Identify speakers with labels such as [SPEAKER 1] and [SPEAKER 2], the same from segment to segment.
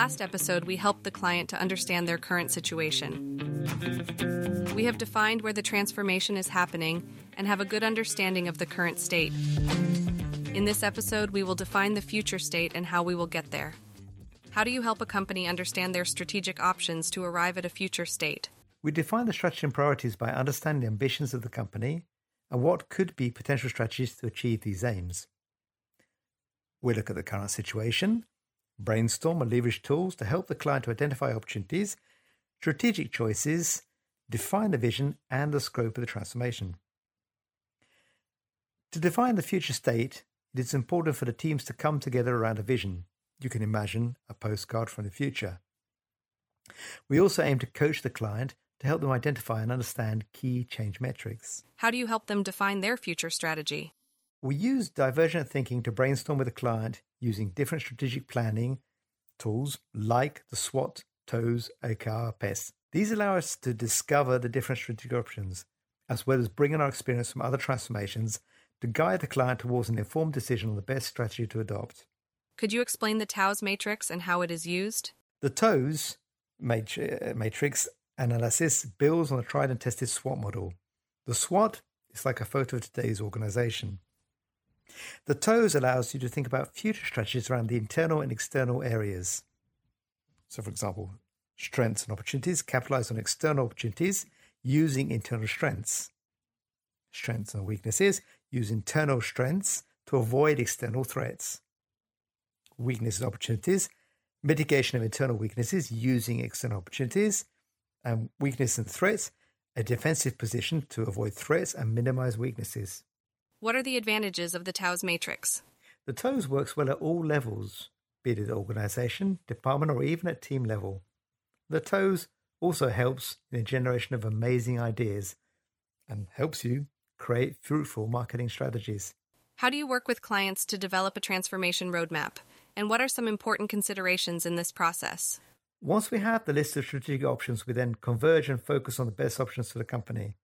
[SPEAKER 1] last episode, we helped the client to understand their current situation. We have defined where the transformation is happening and have a good understanding of the current state. In this episode, we will define the future state and how we will get there. How do you help a company understand their strategic options to arrive at a future state?
[SPEAKER 2] We define the strategy and priorities by understanding the ambitions of the company and what could be potential strategies to achieve these aims. We look at the current situation, brainstorm and leverage tools to help the client to identify opportunities, strategic choices, define the vision and the scope of the transformation. To define the future state, it is important for the teams to come together around a vision. You can imagine a postcard from the future. We also aim to coach the client to help them identify and understand key change metrics.
[SPEAKER 1] How do you help them define their future strategy?
[SPEAKER 2] We use divergent thinking to brainstorm with the client using different strategic planning tools like the SWOT, TOES, OKR, PES. These allow us to discover the different strategic options, as well as bringing our experience from other transformations to guide the client towards an informed decision on the best strategy to adopt.
[SPEAKER 1] Could you explain the TOES matrix and how it is used?
[SPEAKER 2] The TOES matrix analysis builds on a tried and tested SWOT model. The SWOT is like a photo of today's organization. The TOES allows you to think about future strategies around the internal and external areas. So, for example, strengths and opportunities, capitalize on external opportunities using internal strengths. Strengths and weaknesses, use internal strengths to avoid external threats. Weaknesses and opportunities, mitigation of internal weaknesses using external opportunities. And weakness and threats, a defensive position to avoid threats and minimize weaknesses.
[SPEAKER 1] What are the advantages of the TOES matrix?
[SPEAKER 2] The TOES works well at all levels, be it at organization, department, or even at team level. The TOES also helps in the generation of amazing ideas and helps you create fruitful marketing strategies.
[SPEAKER 1] How do you work with clients to develop a transformation roadmap? And what are some important considerations in this process?
[SPEAKER 2] Once we have the list of strategic options, we then converge and focus on the best options for the company.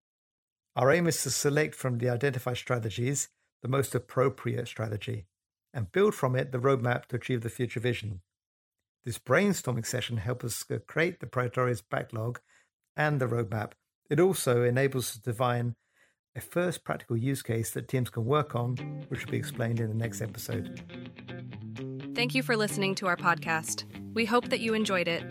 [SPEAKER 2] Our aim is to select from the identified strategies the most appropriate strategy and build from it the roadmap to achieve the future vision. This brainstorming session helps us create the prioritized backlog and the roadmap. It also enables us to define a first practical use case that teams can work on, which will be explained in the next episode.
[SPEAKER 1] Thank you for listening to our podcast. We hope that you enjoyed it.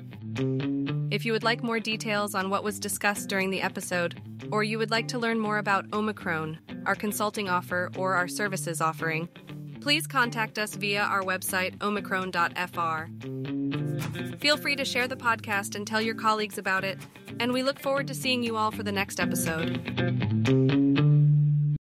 [SPEAKER 1] If you would like more details on what was discussed during the episode, or you would like to learn more about Omicron, our consulting offer, or our services offering, please contact us via our website, omicron.fr. Feel free to share the podcast and tell your colleagues about it, and we look forward to seeing you all for the next episode.